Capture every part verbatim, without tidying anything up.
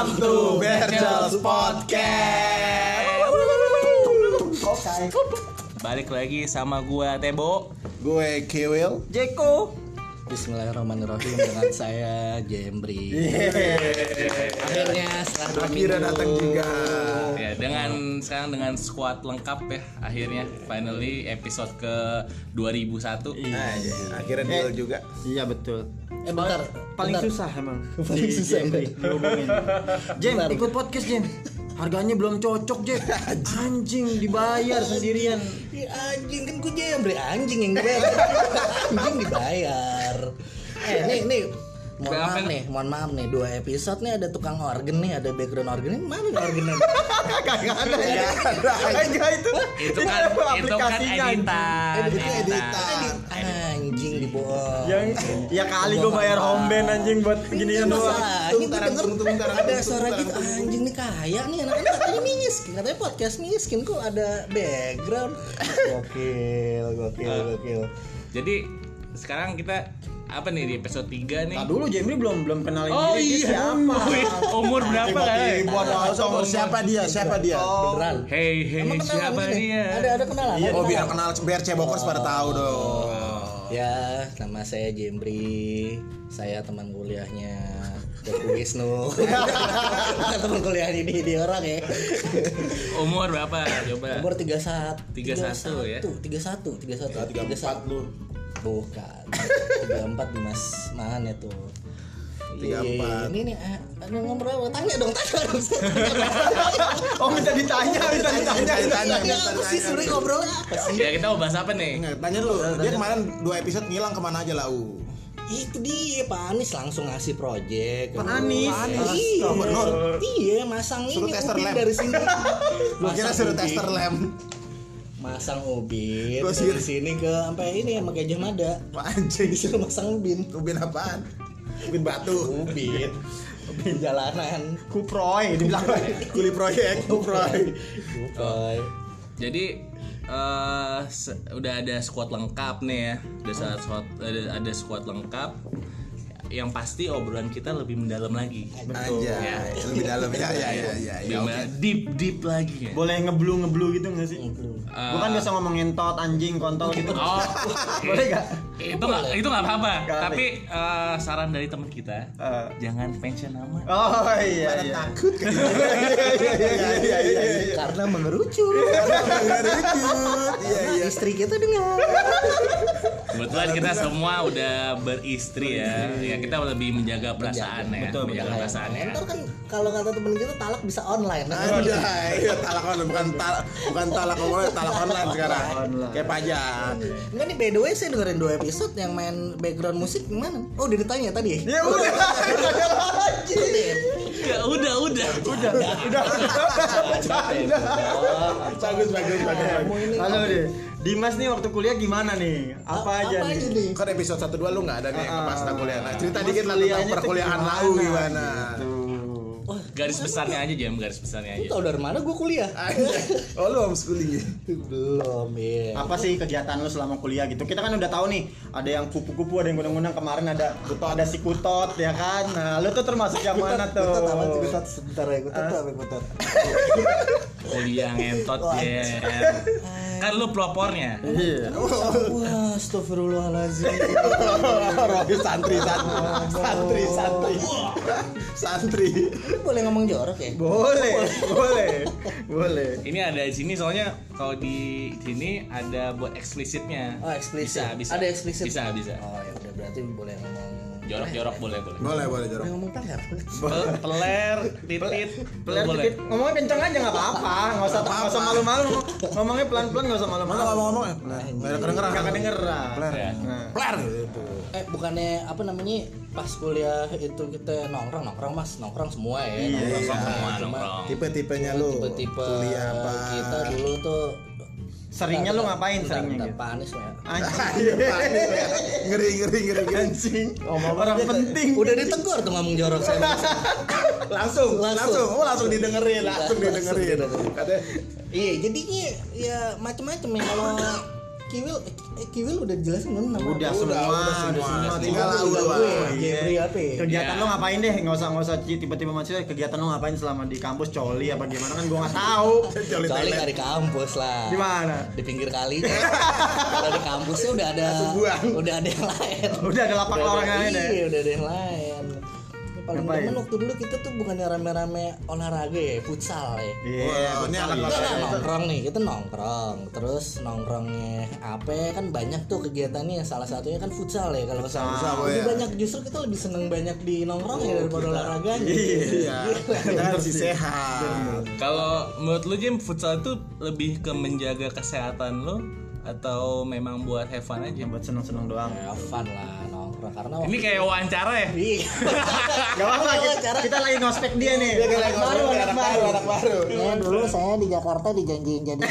Welcome to Berjals Podcast. Oke. Balik lagi sama gua Tebo, Gue Kewil, Jeko. Bismillahirrahmanirrahim dengan saya Jembri. Akhirnya setelah dua akhirnya minggu. datang juga. ya dengan sekarang dengan squad lengkap ya, akhirnya finally episode ke dua ribu satu. Nah, ya, akhirnya deal juga. Iya betul. Eh bentar, Paling bentar. susah emang. Paling Si susah, Jembri dihubungin. Jem, Bentar. ikut podcast Jem. Harganya belum cocok Jem. Anjing dibayar sendirian. Ya, anjing kan gue Jembri, anjing yang dibayar. Anjing dibayar. Eh nih nih mohon Berapa maaf nih? nih, mohon maaf nih, dua episode nih ada tukang organ nih, ada background organ nih, mana nih organnya? Kagak ada ya. Enggak itu. Itu kan itu kan editan. Editan. Anjing dibohong. Yang ya kali gue bayar home band anjing buat ginian doang. Masalahnya Tunggu, gue taran, denger tunggu, tunggu, taran, ada tunggu, suara taran, gitu, tunggu. anjing nih kaya nih anak-anak, katanya miskin, katanya podcast miskin kok ada background. Gokil, gokil, gokil. Jadi sekarang kita apa nih di episode tiga nih? Nah dulu Jembri belum belum kenalin Oh diri dia iya, siapa. Wih, umur berapa kan? Buat langsung siapa dia? Siapa dia? Beneran. Hey hey Emang kenalan siapa gini? dia? Ada ada kenalan. Oh, ada biar kenalan. kenal biar cebokers pada tahu dong. Ya, nama saya Jembri. Saya teman kuliahnya Teguh Wisnu. Bukan teman kuliahnya di, di orang ya. Umur berapa? Coba. Umur tiga puluh satu. tiga puluh satu ya? tiga puluh satu, tiga puluh satu. tiga puluh empat lu. Bukan. tiga puluh empat Dimas mana tuh? tiga puluh empat. Ini nih, eh, ada ngomong apa? Tanya dong, tanya dong. Oh minta ditanya, minta ditanya. Ditanya, Tanya apa sih sebenarnya ngobrolnya apa sih? Ya kita mau bahas apa nih? Nggak, tanya dulu. Dia kemarin dua episode ngilang kemana aja lah, U? Itu dia Pak Anies langsung ngasih project. Pak Anies? Pak Anies. Anies, Iya. gubernur. Iya, masang Suruh ini tester ubin lem. dari sini. Gua kira Masang suruh ubin. tester lem. Masang ubin Gua dari sih- sini ke sampai ini sama Gajah Mada. Wah, anjing. Disuruh masang ubin. Ubin apaan? Ubin batu. Ubin. Ubin jalanan. Kuproy dibilang. Kuli proyek, kuproy. Bukan. Jadi eh se- udah ada squad lengkap nih ya. Udah saat squad ada, ada squad lengkap. Yang pasti obrolan kita lebih mendalam lagi. Anjay, lebih dalam ya ya ya ya. Lebih ya, oke. me- deep deep lagi ya. Boleh ngeblu ngeblu gitu nggak sih? Belum. Gue kan biasa ngomong ngentot, anjing, kontol gitu. Oh, Boleh gak? itu nggak itu nggak apa-apa. Nggak apa. Tapi eh, saran dari teman kita, Eh. jangan mention nama. Oh iya Pada iya. takut kan? Iya iya iya iya. Karena mengerucut. Ngerucut. Iya iya. Istri kita dengar. Kebetulan kita semua udah beristri ya. Ya kita lebih menjaga perasaan ya, Betul, menjaga betul. perasaan ya. Ntar kan kalau kata temen kita talak bisa online. Anjay, iya, talak online bukan talak bukan talak online, talak online sekarang. Kayak pajak. Enggak nih, by the way saya dengerin dua episode yang main background musik gimana? Oh udah ditanya tadi ya? Ya udah. Ya udah udah. Udah, udah. Bagus bagus bagus. Halo deh. Dimas nih waktu kuliah gimana nih? Apa aja Apa nih? aja nih? Kan episode satu dua lu nggak ada nih Ah, pas tentang kuliah. Nah, cerita Mas dikit lah tentang kuliahnya tuh perkuliahan gimana? lau gimana. Gitu. Oh, Garis besarnya aja jam, garis besarnya lu aja. tau dari mana gue kuliah? Anjay. Oh, lu homeschooling ya? Belum ya. Apa sih kegiatan lu selama kuliah gitu? Kita kan udah tahu nih, ada yang kupu-kupu, ada yang gunung-gunung, kemarin ada ada si kutot ya kan. Nah, lu tuh termasuk yang mana tuh? Kutot apa sih kutot? Sebentar ya, kutot tuh apa kutot? Kuliah ngentot ya. Kan lu pelopornya. Iya. Wah, astagfirullahaladzim. Robi santri santri santri santri santri. Lu boleh ngomong jorok ya? Boleh, boleh, boleh. Ini ada di sini soalnya kalau di sini ada buat eksplisitnya. Oh, eksplisit. Bisa, bisa. Ada eksplisit. Bisa, bisa. Oh, ya udah berarti boleh ngomong Jorok-jorok boleh, boleh. Boleh boleh jorok. Boleh ngomong peler. Pel- Peler, titit, Peler boleh. dikit, ngomongnya kenceng aja nggak apa-apa, nggak usah nggak usah malu-malu, ngomongnya pelan-pelan nggak usah Mana malu-malu. ngomong-ngomong ya? Nggak ada kedengeran. Nggak kedengeran. Pler. Ya. Nah. Pler gitu. Eh bukannya apa namanya pas kuliah itu kita nongkrong nongkrong mas nongkrong semua ya. Iya, nongkrong iya. semua. Nongkrong, Cuma nongkrong. Tipe-tipenya lu. tipe-tipe Kuliah apa? kita dulu tuh. Seringnya lu ngapain seringnya Bentar, gitu? Pak Anies ya. Anjing. Iya, panik. Ngeri ngeri ngeri ngeri. Anjing. Orang penting. Udah ditegur tuh ngomong jorok saya. Langsung, Langsung. langsung, oh langsung didengerin, langsung Langsung didengerin. didengerin. Katanya, Iya jadinya ya macem-macem ya kalau Kiwil eh, Kiwil udah jelasin belum nama? Udah semua, udah semua. Tinggal Tinggal lu gue, doang. Jeffrey apa ya? Kegiatan Ya. lo ngapain deh? Enggak usah enggak usah tiba-tiba masuk kegiatan lo ngapain selama di kampus coli apa gimana kan gua enggak tahu. Joli Kecuali toilet. nggak di kampus lah. Di mana? Di pinggir kali. Kalau di kampusnya udah ada, Sebuang. udah ada yang lain. Udah ada lapak Udah orang ada- lain ya. Iya, udah ada yang lain. Ini paling Ngapain? demen waktu dulu kita tuh bukannya rame-rame olahraga ya, futsal ya. Iya, Wah, ini anak Kita kelas kan satu. nongkrong nih, kita nongkrong. Terus nongkrongnya apa kan banyak tuh kegiatannya. Salah satunya kan futsal ya kalau nggak salah. Futsal, Lebih ya. banyak justru kita lebih seneng banyak di nongkrong ya daripada olahraganya. Iya, kita kan harus sehat. Kalau menurut lu Jim, futsal itu lebih ke menjaga kesehatan lu atau memang buat have fun aja? buat seneng-seneng doang. Ya fun lah nongkrong karena Ini kayak wawancara ya? Iya. Enggak apa-apa, kita, kita lagi ngospek dia nih. Dia kayak Anak baru, anak baru, anak baru. Ya dulu saya di Jakarta dijanjiin jadi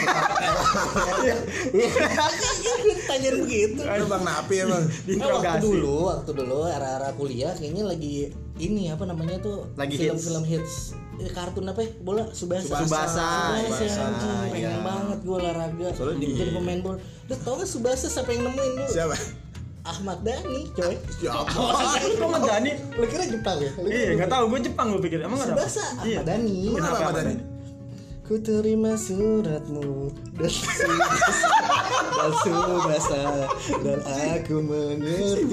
tanyain begitu. Itu Bang Napi emang. Eh, waktu Diinterogasi. dulu, waktu dulu era-era kuliah kayaknya lagi ini apa namanya tuh Lagi film-film hits. Eh, kartun apa ya? Bola Subasa. Subasa. Subasa, Subasa, anjing, pengen iya. banget gue olahraga. Soalnya di- Jadi pemain bola. Udah tau gak Subasa siapa yang nemuin lu? Siapa? Ahmad Dhani, coy. Siapa? Kok nggak Dani? Lu kira Jepang ya? Lu kira Iya, enggak tahu, gue Jepang gue pikir. Emang enggak ada? Subasa, Iya. Ahmad Dhani. Kenapa Ahmad Dhani? Ku terima suratmu dan Subasa dan Subasa dan aku mengerti.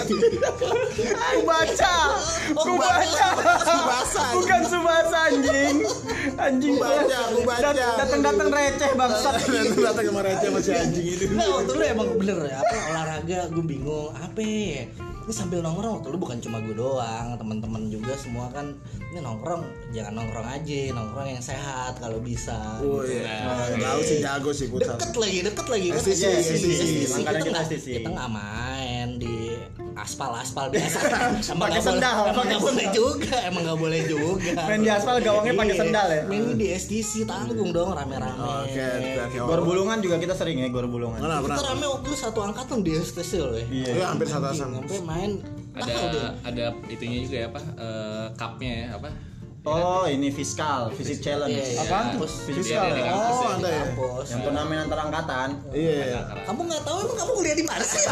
Aku baca. Aku baca. Subasa. Bukan Subasa anjing. Anjing Baca, aku baca. Dat- Datang-datang receh bangsat. Datang kemarin aja masih anjing itu. Nah waktu lu emang bener ya apa olahraga gue bingung apa ya? Ini sambil nongkrong waktu lu bukan cuma gue doang, teman-teman juga semua kan ini nongkrong jangan nongkrong aja, nongkrong yang sehat kalau bisa. Oh gitu. iya. Tahu sih jago sih futsal. Deket lagi, deket lagi kan. S T C, Iya, S T C. S T C. Makanya Kita kita nggak S T C. kita nggak main di aspal-aspal biasa. Emang Pakai nggak boleh- sendal, Emang pakai nggak boleh juga, emang nggak boleh juga. Main di aspal gawangnya pakai Iya. sendal ya? Main di S T C tanggung dong rame-rame. Oke, oke. Gor bulungan juga kita sering ya, gor bulungan. Mana Kita pernah? rame waktu itu satu angkatan di S T C loh ya. Iya. Iya, hampir satu asam. Sampai main Ada tahu deh. ada itunya juga ya apa? Eh, cupnya ya apa? Oh, ini fiskal, fisik challenge. Iya, iya. Apaan tuh? Kampus. Fiskal. Iya, di ya? kampus Oh, ya. ada ya. Kampus. Yang turnamen antar angkatan. Iya, iya. Kamu nggak tahu emang kamu kuliah di mana sih?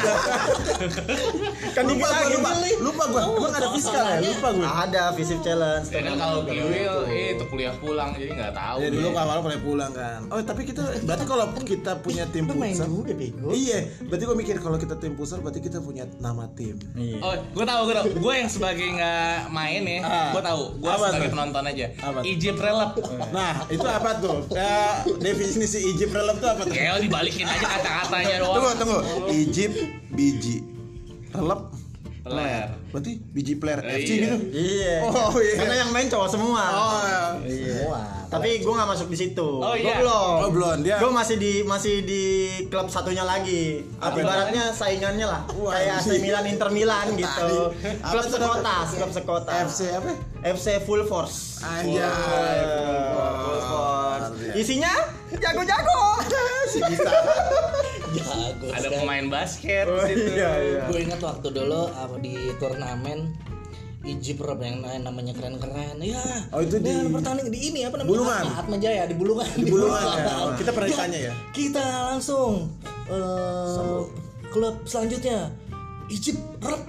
Kan dikit Lupa lagi, gua, lupa. Pak. Lupa gua. Emang ada fiskal ya? Lupa gua. Ada fisik challenge. Ya kan kalau Kiwil itu kuliah pulang jadi nggak tahu. Ya dulu awal pernah pulang kan. Oh, tapi kita berarti kalau kita punya tim Lu main futsal. juga bego. Iya, berarti gua mikir kalau kita tim futsal berarti kita punya nama tim. Iya. Oh, gue tahu, gue tahu. Gue yang sebagai nggak main ya, Ah. gue tahu. Gue Apa sebagai tuh? penonton aja. Apa tuh? Ijib relap. Nah, itu apa tuh? Ya, definisi Egypt relap itu apa tuh? Kayak dibalikin aja kata-katanya Tunggu, doang. tunggu. Egypt biji. Relap Peler. berarti biji player Eh, F C iya. gitu. Iya. Oh, iya. Karena yang main cowok semua. Oh, iya. Semua. Tapi gue nggak masuk di situ. Oh, Gua iya. belum. Oh, belum. Dia- Gue masih di masih di klub satunya lagi. Apa Ibaratnya saingannya lah. Wah, Kayak A C anjing. Milan, Inter Milan gitu. Tadi. Apa Klub tuh sekota, namanya? klub sekota. F C apa? F C Full Force. Anjay. Full Force. Iya. Isinya jago-jago. Si bisa. Jago. Ada sekali. pemain basket Oh, di situ. iya, iya. Gue ingat waktu dulu apa di turnamen Ijip Rob yang namanya keren-keren. Ya. Oh, itu di- Dan pertandingan di ini apa namanya? Bulungan. Atma, Atma Jaya di Bulungan. Di Bulungan ya. Kita pernah ditanya ya. Kita langsung eh, klub selanjutnya Ijip Rob.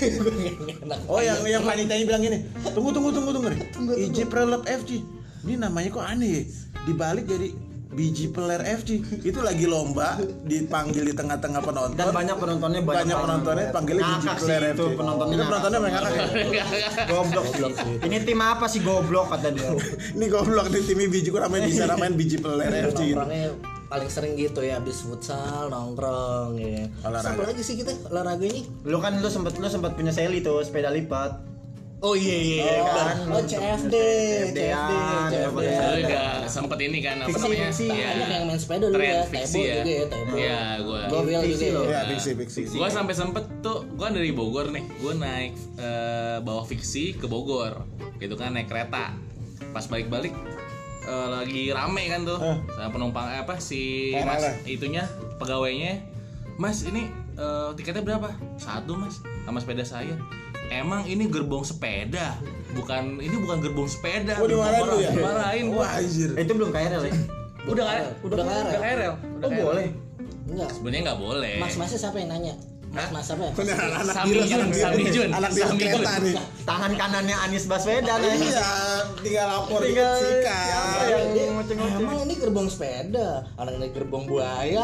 Oh, yang yang panitianya bilang gini. Tunggu, tunggu, tunggu, tunggu nih. Egypt relap F C. Ini namanya kok aneh ya? Dibalik jadi biji peler F C. Itu lagi lomba dipanggil di tengah-tengah penonton. Dan banyak penontonnya banyak, banyak penontonnya panggilnya biji Ngakak sih peler F C. itu penontonnya. Itu penontonnya mereka kan. Goblok sih. Ini tim apa sih goblok kata dia. Ini goblok nih tim biji kok namanya bisa namain biji peler F C gitu. Nongkrongnya paling sering gitu ya abis futsal nongkrong ya. Olahraga. Apa lagi sih kita olahraganya? Lu kan lu sempet lu sempet punya Sally tuh sepeda lipat. Oh iya iya iya. Oh, kan. Oh C F D, C F D, C F D. C F D. Lu juga sempet ini kan apa Fiksi, namanya? fiksi. Iya. Banyak yang main sepeda dulu Tren ya, fiksi Tebo ya. juga ya, Tebo. Iya, gue. Gua Kiwil fiksi juga loh. ya. Ya, fiksi fiksi. Gue sampai sempet tuh, gue dari Bogor nih, gue naik eh, bawa fiksi ke Bogor, gitu kan naik kereta. Pas balik-balik eh, lagi rame kan tuh, sama penumpang eh, apa si Parah mas lah. itunya pegawainya, Mas ini eh, tiketnya berapa? Satu Mas, sama sepeda saya. Emang ini gerbong sepeda, bukan ini bukan gerbong sepeda. Oh, dimarahin lu ya? Marahin gua. Wah, anjir. Eh, itu belum K R L ya? Udah kan? Udah K R L. Udah K R L. Oh, boleh. Enggak. Sebenarnya nggak boleh. Mas-masnya siapa yang nanya? Mas-mas apa ya? Bener, anak Sami biru, Jun, anak biru. Sami Jun, Anak biru Sami kereta Jun. nih. Tangan kanannya Anies Baswedan ya. Iya, tinggal lapor Tinggal sikat. siapa yang Dia, ngoceh-ngoceh? emang ini gerbong sepeda, orang ini gerbong buaya.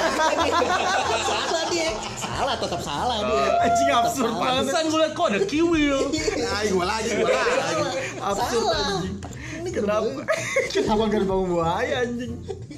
Salah dia, salah tetap salah dia. Anjing Tetap absurd salah. banget. Pantesan gue liat kok ada kiwil. Ay, gua lagi, gua lagi. Absurd Salah. anjing. Ini Kenapa? gerbong. Kenapa gerbong buaya anjing?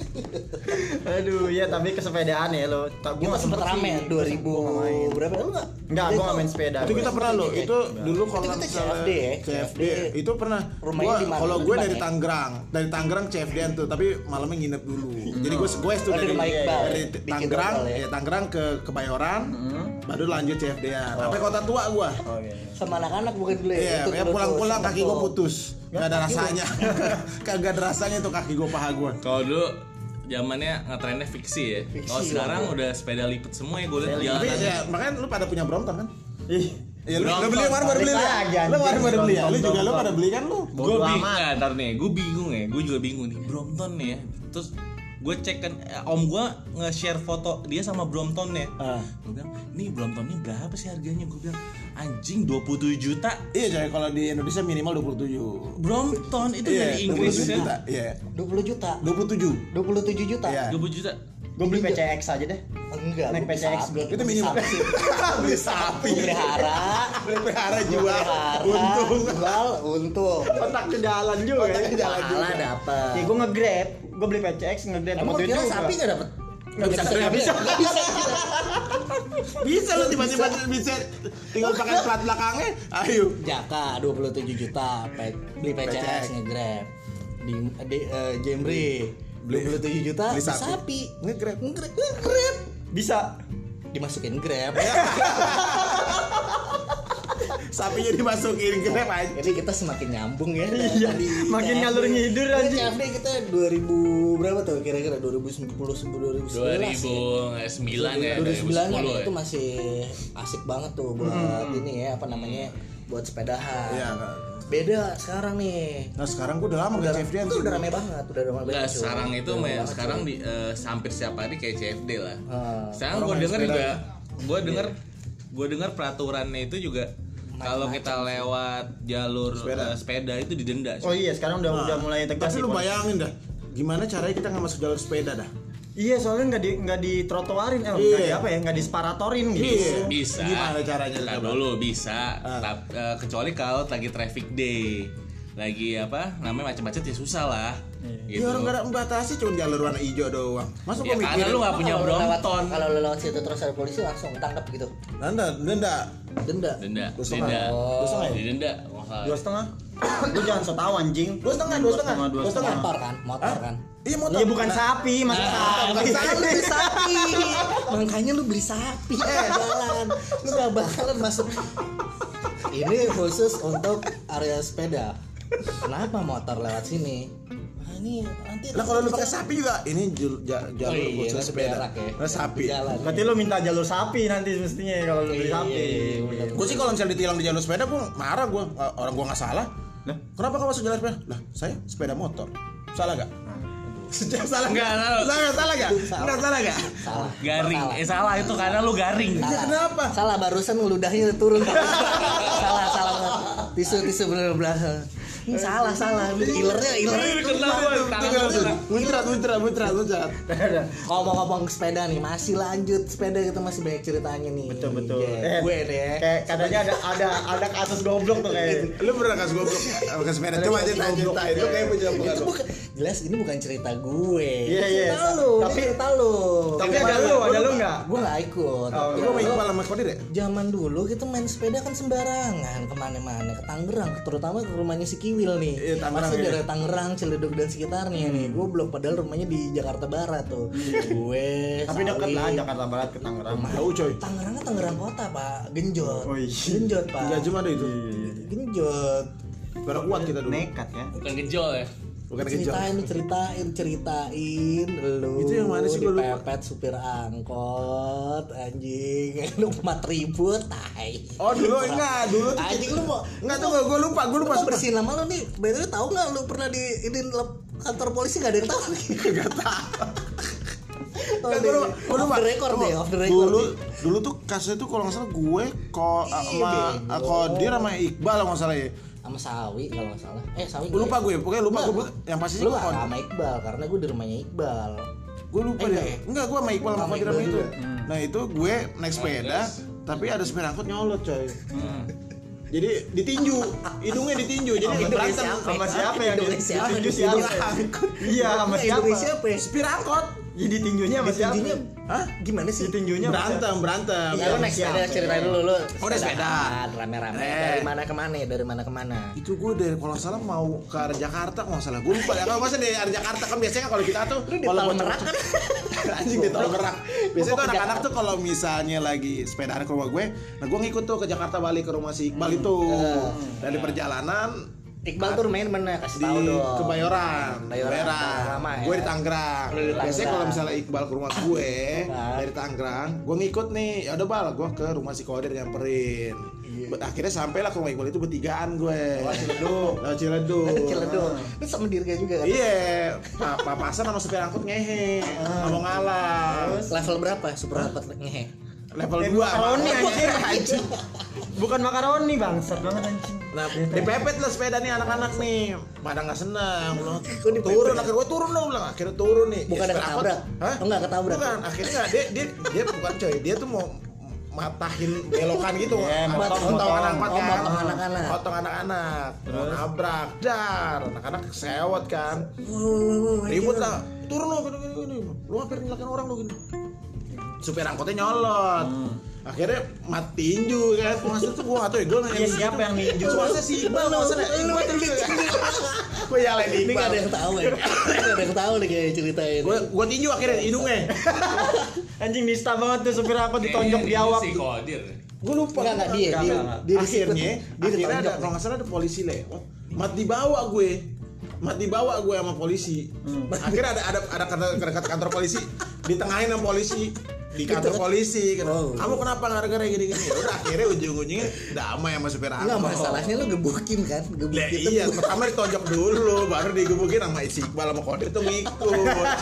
Aduh, ya tapi kesepedaan ya lo. Tak Kita gua sempet rame ya, dua ribu berapa lu enggak? Enggak, gua enggak main sepeda. Itu kita pernah loh, itu dulu kalau Itu kita misalnya C F D ya, C F D, C F D. itu pernah. Rumahnya Gua di mana? kalau Di gue mana dari ya? Tangerang, dari Tangerang C F D-an tuh, tapi malamnya nginep dulu. Jadi gue gue itu Oh, dari dari Mike Bal, dari bikin Tangerang, hotel ya? ya Tangerang ke Kebayoran, baru lanjut C F D-an. Sampai kota tua gua. Oh iya. Sama anak-anak bukan dulu ya. Iya, Itu ya dulu pulang-pulang tuh, kaki sempet gue tuh. putus. Gak ada rasanya. Kagak ada rasanya tuh kaki gue paha gue. Kalau dulu zamannya ngetrennya fiksi ya. Fiksi, Kalau sekarang ya. udah sepeda lipat semua ya gue liat Tapi jalanan. ya makanya lu pada punya Brompton kan? Ih, Iya, lu, lu Brompton. beli kemarin baru beli lu. Balik lagi, Lu kemarin baru beli ya? Lu Brompton, juga lu Brompton. pada beli kan lu? Gue Bodo bingung, amat. nah, ntar nih, gue bingung ya, gue juga bingung nih, Brompton nih ya. Terus gue cek kan, eh, om gue nge-share foto dia sama Brompton ya. Ah. Gue bilang, nih Brompton ini berapa sih harganya? Gue bilang, anjing dua puluh tujuh juta. Iya, coy, kalau di Indonesia minimal dua puluh tujuh. Brompton itu Iya, dari Inggris dua puluh tujuh ya. juta. Iya. dua puluh juta. dua puluh tujuh. dua puluh tujuh juta. Iya. dua puluh juta. gua beli P C X aja deh. Enggak, Naik gua P C X sapi. gua. Itu minimal. Beli sapi. Pelihara, Beli pelihara jual. pelihara, Untung. jual, untung. Otak ke jalan juga. Otak ya. ke jalan. Pahala dapat. Ya gua nge-grab, gua beli P C X nge-grab Emang sama kira juga. sapi nggak dapat? Nggak bisa, nggak nggak bisa, bisa. nggak bisa. Bisa lu tiba-tiba bisa tinggal pakai plat belakangnya. Ayo. Jaka dua puluh tujuh juta, pe- beli P C X nge-grab. Di, di eh, Jemri dua puluh tujuh juta Beli beli sapi. sapi. Nge-grab. Nge-grab. Nge-grab. Bisa. Dimasukin Grab. Sapinya dimasukin grab aja. Jadi kita semakin nyambung ya. Iya, Tadi makin C F D. ngalur ngidur Tadi anjing. C F D kita dua ribu berapa tuh kira-kira dua ribu sepuluh dua ribu dua sebelas ribu sembilan ya, dua ribu sembilan dua ribu sepuluh kan ya. itu masih asik banget tuh buat ini ya apa namanya buat sepedahan. Iya, kan. Beda sekarang nih. Nah, sekarang gua udah lama Udah, nggak C F D-an itu sih. udah rame banget, udah rame banget. Nah, cuy. sekarang itu Udah rame main banget, sekarang cuy. di eh, hampir setiap hari kayak C F D lah. Ah, Sekarang orang gue main denger sepeda. juga, gue denger, gue denger peraturannya itu juga kalau kita lewat jalur Sepeda. eh, sepeda itu didenda. Oh iya, sekarang udah udah mulai tegas. Tapi sih, lu Pon. bayangin dah, gimana caranya kita nggak masuk jalur sepeda dah? Iya, soalnya nggak di nggak di trotoarin, eh, Iya. nggak di apa ya, nggak disparatorin gitu. Iya. Bisa. Gimana caranya, Ntar coba? dulu bisa. Ah. Tap- eh, kecuali kalau lagi traffic day, lagi apa namanya macet-macet ya susah lah. Gitu. Ya orang nggak ada membatasi, cuma jalur warna hijau doang. Masuk Ya gua karena lu mikirin. nggak punya Kalau lu lewat- Brompton. Kalau lu lewat situ terus ada polisi langsung tangkap gitu. Nanda, denda. Denda. Denda, Dua setengah. denda, Dua setengah ya? denda. masalah. Dua setengah. Lu jangan so tau anjing. Dua setengah, dua setengah, dua dua setengah. Motor kan, motor kan. Iya motor. Iya bukan sapi, masa Ah, sapi. makanya lu beli sapi. Makanya lu beli sapi eh jalan. Lu gak bakalan masuk. Ini khusus untuk area sepeda. Kenapa motor lewat sini? Nah, ini nanti Lah kalau lu pakai sapi juga, ini jul- ja- Oh jalur iya, khusus nanti sepeda. berak ya. Nah, sapi. Jalan. Berarti lu minta jalur sapi nanti mestinya kalau lu beli Iya, sapi. iya, bener. Gue sih kalau misalnya ditilang di jalur sepeda, gue marah gue. Orang gue nggak salah. Lah? Kenapa kau masuk jalur sepeda? Lah, saya sepeda motor. Salah gak? Sejak salah Nggak, nggak? salah. Salah salah gak? Salah. Nggak salah gak? Salah. Garing, Salah. eh salah itu karena lu garing. Ya, kenapa? Salah barusan ludahnya turun. salah salah tisu tisu bener bener. Ini salah salah. Ilernya ilernya. Ketahuan, tangan lu kena. Muncrat, muncrat, muncrat, muncrat. Ngomong-ngomong sepeda nih, masih lanjut sepeda kita masih banyak ceritanya nih. Betul betul. Iya, gue deh. Kayak katanya ada ada ada kasus goblok tuh kayak. Lu pernah kasih goblok ya? Pakai sepeda. Coba ceritain, ceritain. Lu kayak punya Itu pengalaman. bukan jelas ini bukan cerita gue. Iya, Ini iya. cerita lu, ini Tapi- cerita lu. Tapi ada lu, ada lu enggak? Gue gak ikut. Oh, Lu mau Iqbal sama Kodir ya? Zaman dulu kita main sepeda kan sembarangan kemana-mana, ke Tangerang, terutama ke rumahnya si Kiwil nih. Iya, Tangerang, Masih iya. dari Tangerang, Ciledug dan sekitarnya nih. Gue blok padahal rumahnya di Jakarta Barat tuh. Gue. Tapi dekat Sawi. lah Jakarta Barat ke Tangerang. Jauh coy. Tangerangnya Tangerang kota pak, genjot. Oh, iya. Genjot pak. Enggak cuma ada itu. Genjot. Pada kuat kita dulu. Nekat ya. Bukan gejol ya. Bukan kejauh. Ceritain, ceritain, ceritain lu. Itu yang mana sih, gua lupa. dipepet supir angkot, anjing. Lu mat ribut, tai. Oh dulu enggak, dulu tuh Anjing lu mau enggak tuh gue lupa, gue lupa Lu mau sumpah. bersihin nama lu nih. By the way, tahu nggak lu pernah di ini lep- kantor polisi nggak ada yang tahu nih. Enggak tahu. Kan gua lupa, gua lupa. Off the record deh, off the record. Dulu dulu tuh kasusnya tuh kalau nggak salah gue kok sama Kodir sama Iqbal kalau nggak salah ya. Sama Sawi kalau nggak salah. Eh Sawi. Gue lupa gue, pokoknya lupa gue yang pasti sih Lu gue nggak sama Iqbal karena gue di rumahnya Iqbal. gue lupa Eh, deh. enggak ya? Enggak, gue sama Iqbal sama Sama Kodir Iqbal itu. juga. Nah itu gue naik sepeda, tapi ada sepeda angkot nyolot coy. Jadi ditinju, hidungnya ditinju. Jadi Hidungnya berantem siapa? Sama siapa yang Hidungnya di- siapa? ditinju Hidung siapa? angkot. Iya, sama siapa? Hidungnya siapa ya? Supir angkot. Jadi tinjunya sama siapa? Tinjunya Hah? gimana sih? Tinjunya sama siapa? Berantem, berantem. Iya, lu naik sepeda siapa? ceritain dulu lu. Oh, naik sepeda. Rame-rame. Eh. Dari mana ke mana? Dari mana ke mana? Itu gue dari kalau nggak salah mau ke arah Jakarta kalau nggak salah gue lupa ya kalau masa dari arah Jakarta kan biasanya kalau kita tuh Lu di kalau Tol bocor- Merak kan? anjing di Tol Merak biasanya Gua tuh ke anak-anak Jakarta. tuh kalau misalnya lagi sepedaan ke rumah gue nah gue ngikut tuh ke Jakarta balik ke rumah si Iqbal itu dari perjalanan Iqbal tuh main mana? Kasih di tahu dong. Kebayoran, Kebayoran, lama ya? gue di Tangerang. Lu di Tangerang. Biasanya kalau misalnya Iqbal ke rumah gue Nah. dari Tangerang, gue ngikut nih. Ya udah bal, gue ke rumah si Kodir nyamperin. Buat akhirnya sampailah ke rumah Iqbal itu bertigaan gue. Lewat Ciledug. Lewat Ciledug. Ciledug. Lu sama Dirga juga kan? Iya, pa- papasan sama supir angkot ngehe, nggak mau ngalah. Level berapa? Super rapat ngehe. Level Eh, dua. makaroni anjing, anjing. Bukan makaroni bangsat banget anjing. Nah, dipepet lah sepeda nih anak-anak nih. Pada nggak senang, loh. dipepet? Turun, akhirnya gue turun dong, bilang. Akhirnya turun nih. Bukan Ya, ada sepeda angkot. ketabrak? Hah? Oh, nggak ketabrak? Bukan, akhirnya nggak. Dia, dia, dia bukan coy. Dia tuh mau matahin belokan gitu. Iya, Angkot, motong, potong motong. anak-anak Oh, kan. motong anak-anak. Potong anak-anak. Mau nabrak, dar. Anak-anak sewot kan. Ribut lah. Turun lo, gini, gini, gini. Lu hampir nyalakan orang lo gini. Supir angkotnya nyolot. Akhirnya mati tinju kan. Maksudnya tuh gua enggak tahu ya, gua nanya Iya, siapa yang ninju? Maksudnya si Iqbal maksudnya Iqbal tinju. Gua nyalain Ini Iqbal. gak ada yang tahu ya. Ini gak ada yang tahu nih kayak ceritain. Gua gua tinju akhirnya hidungnya. Anjing nista banget tuh supir aku ditonjok di awak. Si Kodir. Gua lupa. Enggak enggak dia, Enggak, dia, enggak, dia akhirnya disikut. dia akhirnya ada ditonjok. kalau nggak salah ada polisi lewat. Mat dibawa gue. Mat dibawa gue sama polisi. Akhirnya ada ada ada kantor, kantor, kantor polisi ditengahin sama polisi di kantor polisi kan. Oh. Kamu kenapa gara-gara gini-gini? Udah akhirnya ujung-ujungnya damai sama supir Enggak angkot. masalahnya lu gebukin kan? Lah Gebukin tuh iya, bukan- pertama ditonjok dulu, baru digebukin sama si Iqbal sama Kodir tuh ngikut.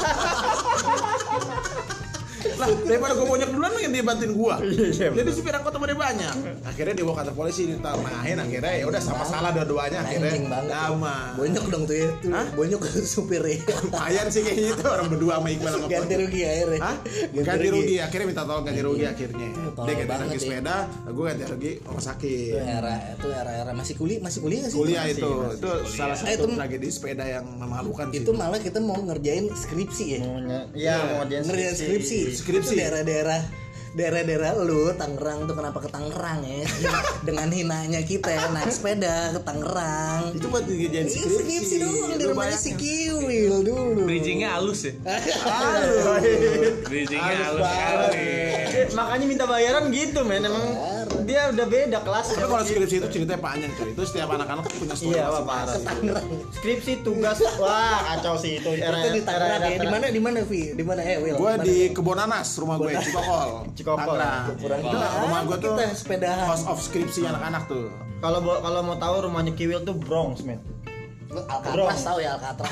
Lah, daripada gue bonyok duluan yang dia bantuin gua. Jadi supir angkot sama dia banyak. Akhirnya dibawa kantor polisi ditengahin akhirnya ya udah sama salah dua-duanya Anjing akhirnya banget. damai. Bonyok dong tuh ya. Tuh, Hah? bonyok ke supirnya. Lumayan sih kayaknya itu orang berdua sama Iqbal sama Ganti Kodir. rugi akhirnya. Hah? Ganti rugi, akhirnya minta tolong ganti rugi akhirnya. tolong Dia ganti banget rugi ya. sepeda, gue ganti rugi rumah Itu sakit. era itu era-era masih kuliah, masih kuliah nggak sih? Kuliah itu, itu salah Eh, satu itu- tragedi sepeda yang memalukan sih. Itu malah kita mau ngerjain skripsi ya. Iya, mau dia Ngerjain skripsi. Skripsi. Itu daerah-daerah daerah-daerah lu Tangerang tuh kenapa ke Tangerang ya? Dengan hinanya kita ya, naik sepeda ke Tangerang. Itu buat dijadiin Ini skripsi. skripsi doang di Lu rumahnya si bayangin. Kiwil dulu. Bridgingnya halus ya. Bridgingnya Halus halus sekali. Eh, makanya minta bayaran gitu men, emang dia udah beda kelas. Tapi kalau skripsi itu ceritanya panjang coy. Itu setiap anak-anak tuh punya story Iya, masing-masing. parah. Tangerang. Skripsi tugas, wah kacau sih itu. Era Itu di Tangerang ya. Di mana di mana Vi? Di mana eh Wil? Gue Mana? di Kebonanas, rumah gue Cikokol. Cikokol. Tangerang. Kurang Itu rumah gue tuh kita sepedahan. house of skripsi anak-anak tuh. Kalau bo- kalau mau tahu rumahnya Kiwil tuh Bronx men. Lu Alcatraz tahu ya Alcatraz.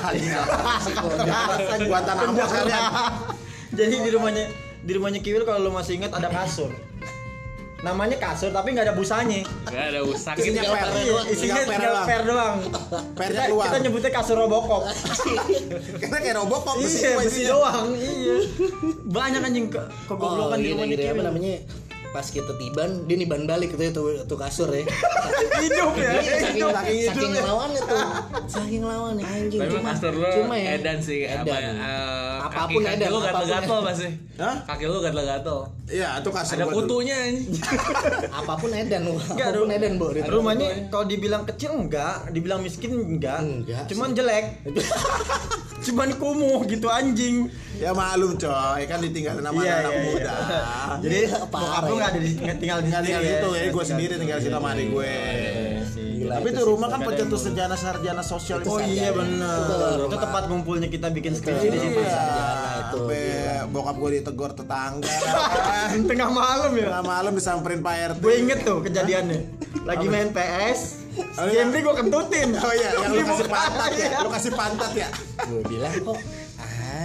Guantanamo sekalian. Jadi di rumahnya di rumahnya Kiwil kalau lu masih ingat ada kasur. Namanya kasur tapi nggak ada busanya. Gak ada usak Isinya gitu. per. Iya, isinya Tinggal per tinggal doang. per doang. Pernya Kita, keluar. kita nyebutnya kasur Robocop. Karena kayak Robocop besi Iya, semua besi isinya. doang. Iya. Banyak anjing ke kegoblokan di gini, rumahnya gini, apa Kiwil. namanya? Pas kita tiban, dia niban balik itu itu, itu kasur ya. Hidup ya. Iya, saking Hidup. saking, saking lawannya tuh. Saking lawannya anjing. Tapi Cuma- kasur lu cuma ya. edan sih. Apa, Edan. eh, Apapun kaki, edan, kaki lu apapun gatel-gatel edan. pasti. Hah? Kaki lu gatel-gatel. Iya, itu kasur Ada gua tuh. kutunya anjing. Apapun edan, Enggak, apapun ru- edan, Bu. Rumahnya kalau dibilang kecil enggak, dibilang miskin enggak. Enggak Cuman jelek. Cuman kumuh gitu anjing. Ya maklum coy, kan ditinggalin sama Iya, anak iya, muda. iya. Jadi Iya, bokap parah lu ya. enggak ada di tinggal di Tinggal tinggal sini gitu ya, gue Tinggal sendiri di tinggal di situ sama adik gue. Gila, Tapi itu itu sih. rumah kan Nggak ada pencetus yang sarjana sarjana sosial Oh itu. iya benar. Itu rumah. tempat ngumpulnya kita bikin skripsi di situ. Iya. itu, Sampai gila. bokap gue ditegor tetangga. kan. Tengah malam ya. Tengah malam disamperin Pak R T. Gue inget tuh kejadiannya. Lagi main P S, Oh, iya. Jemri gue kentutin. Oh iya, yang lu Di kasih muka, pantat ya. iya. Lu kasih pantat ya. Gue bilang kok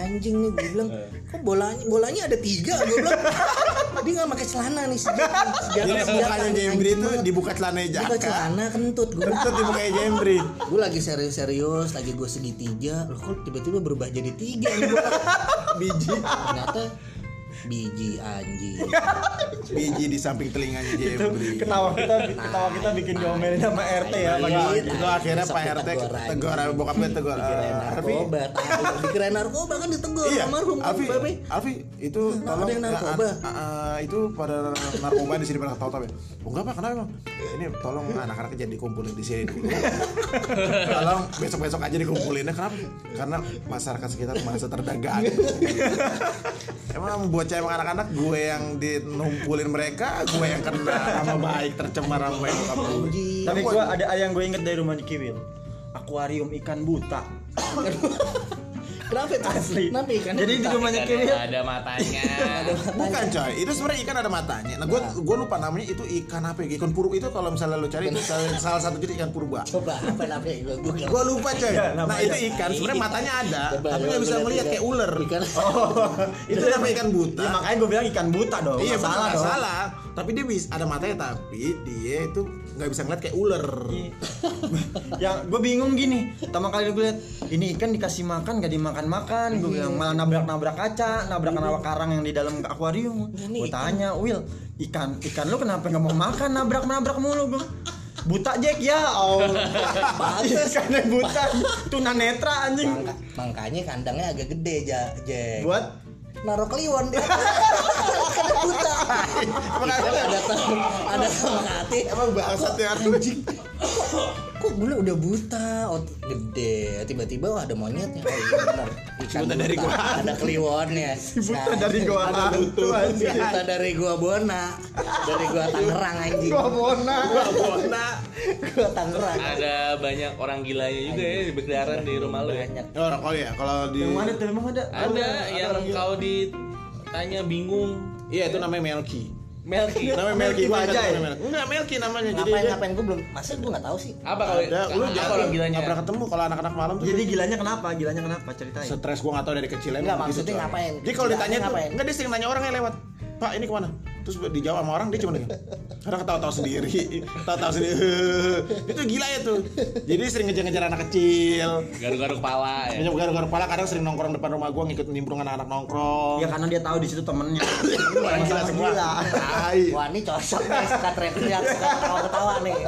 anjing nih, gue bilang kok bolanya bolanya ada tiga, gue bilang dia nggak pakai celana nih sejak Jadi mukanya Jembri itu dibuka celananya Jaka. buka celana kentut gue. Kentut dibuka Jembri. Gue lagi serius-serius, lagi gue segitiga, loh kok tiba-tiba berubah jadi tiga nih bola. Biji. Ternyata biji anjing. Biji di samping telinganya Itu Jembri. ketawa kita ketawa kita bikin diomelin sama R T ya pagi Iya, pagi. itu akhirnya Pak R T tegur, bokapnya tegur. Dikirain Eh, tapi narkoba, tahu. Dikirain narkoba kan ditegur iya, almarhum Alfi, Babe. Alfi itu Kenapa tolong ada yang narkoba? ya, ah, ah, itu pada narkoba di sini pada tahu-tahu ya. Oh enggak Pak, kenapa Bang? Ini tolong anak-anak jadi dikumpulin di sini dulu. Tolong besok-besok aja dikumpulinnya. Kenapa? Karena masyarakat sekitar merasa terdagang. Emang bocah emang anak-anak gue yang dinumpulin mereka, gue yang kena sama baik tercemar sama baik bokap gue. Anjing. Tapi gua ada ada yang gue inget dari rumah Kiwil. Akuarium ikan buta. Kenapa itu? Asli. Kenapa ikannya Jadi di buta? rumahnya Ikan Kiwil. yang ada matanya. Bukan coy, itu sebenarnya ikan ada matanya. Nah, gue gue lupa namanya itu ikan apa ya? Ikan purba itu kalau misalnya lo cari itu salah, salah satu jenis ikan purba. Coba apa namanya gue Google. Gue lupa coy. Ya, Nah namanya. itu ikan sebenarnya matanya ada, Coba, tapi coba nggak bisa gua ngeliat lihat kayak ular. Ikan. Oh, Itu namanya ikan buta. Ya makanya gue bilang ikan buta dong. Iya Nggak benar, salah nggak dong. salah. Tapi dia bisa ada matanya tapi dia itu nggak bisa ngeliat kayak ular. Iya. Yang gue bingung gini, pertama kali gue lihat ini ikan dikasih makan gak dimakan-makan, gue bilang malah nabrak-nabrak kaca, nabrak-nabrak karang yang di dalam akuarium. Gue tanya, Will, ikan ikan lu kenapa nggak mau makan, nabrak-nabrak mulu gue. Buta Jack ya, oh, Pantes. ikannya buta, tuna netra anjing. Mangka- makanya kandangnya agak gede ja, Jack. Buat Naruh kliwon dia. Karena buta. Makanya ada tem- ada teman hati. emang bangsat ya anjing. Kok gue udah buta, oh, gede, tiba-tiba wah ada monyetnya. Oh iya benar. Ikan Buta dari gua. ada kliwonnya. buta dari gua hantu anjing. Buta dari gua Bona, dari gua Tangerang anjing. Gua bona. Bona. Gua Tangerang. Ada banyak orang gilanya juga ya di berkeliaran di rumah lu ya. Banyak. Oh, oh ya kalau di Yang mana tuh emang ada? Ada yang kau ditanya bingung. Iya itu namanya Melki. Melki. Namanya Melki Melki Bajai. Bajai. Namanya. Enggak Melki namanya. Jadi Ngapain dia- ngapain gue belum, masa gue nggak tahu sih. Apa kalau ada lu apa jangan kalau gilanya? nggak pernah ketemu kalau anak-anak malam tuh. Jadi gilanya kenapa? Gilanya kenapa? Ceritain. Stres gua nggak tahu dari kecil emang Enggak, begitu, maksudnya coy. ngapain? Jadi kalau ditanya tuh Ngapain? enggak dia sering nanya orang yang lewat. Pak ini kemana? Terus dijawab sama orang dia cuma dengan kadang ketawa-tawa sendiri, ketawa-tawa sendiri. Itu gila ya tuh. Jadi sering ngejar-ngejar anak kecil. Garuk-garuk kepala ya. Banyak garuk-garuk kepala kadang sering nongkrong depan rumah gua ngikut nimbrung anak-anak nongkrong. Ya karena dia tahu di situ temennya. Orang gila Sama semua. gila. Tai. Wah ini cocok nih, suka teriak-teriak, suka ketawa-ketawa nih.